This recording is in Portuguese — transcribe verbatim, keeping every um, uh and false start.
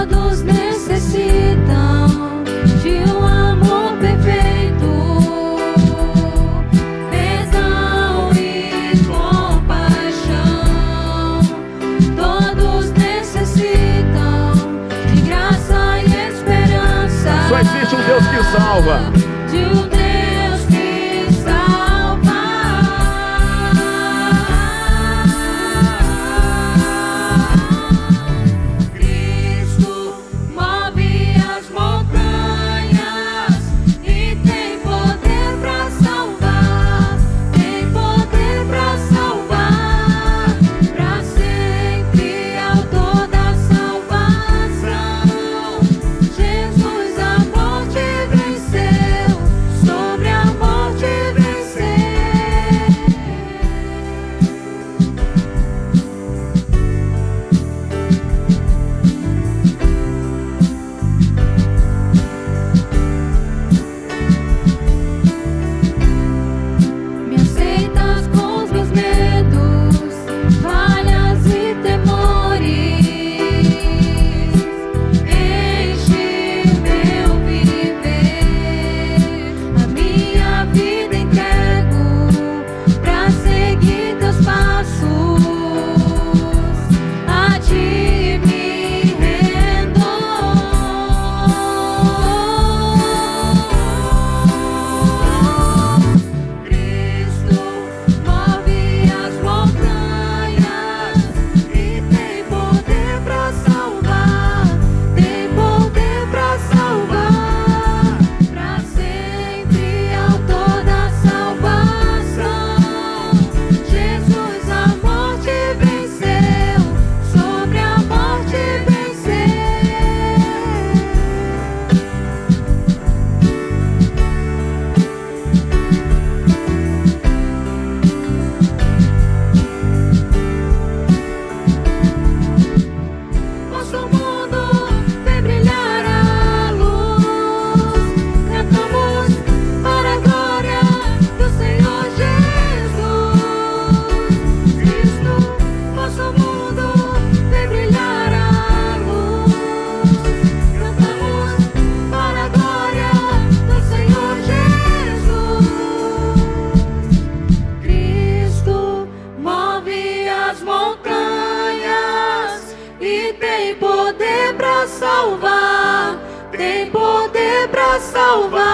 Todos necessitam de um amor perfeito, perdão e compaixão. Todos necessitam de graça e esperança. Só existe um Deus que salva. De um Deus que salva. Cristo move as montanhas e tem poder pra salvar. Tem poder pra salvar. Pra sempre autor da salvação. Jesus a morte venceu. Sobre a morte vencer. Me aceitas com os meus medos, falhas e temores. Enche meu viver. A minha vida entrego pra seguir teus passos. A ti me rendo. Cristo move as montanhas e tem poder pra salvar. Tem poder pra salvar. Pra sempre autor da salvação. Jesus a morte venceu. Sobre a morte vencer. Nosso mundo vem brilhar a luz. Cantamos para a glória do Senhor Jesus. Cristo, nosso mundo vem brilhar a luz. Cantamos para a glória do Senhor Jesus. Cristo move as montanhas e tem poder pra salvar. Tem poder pra salvar.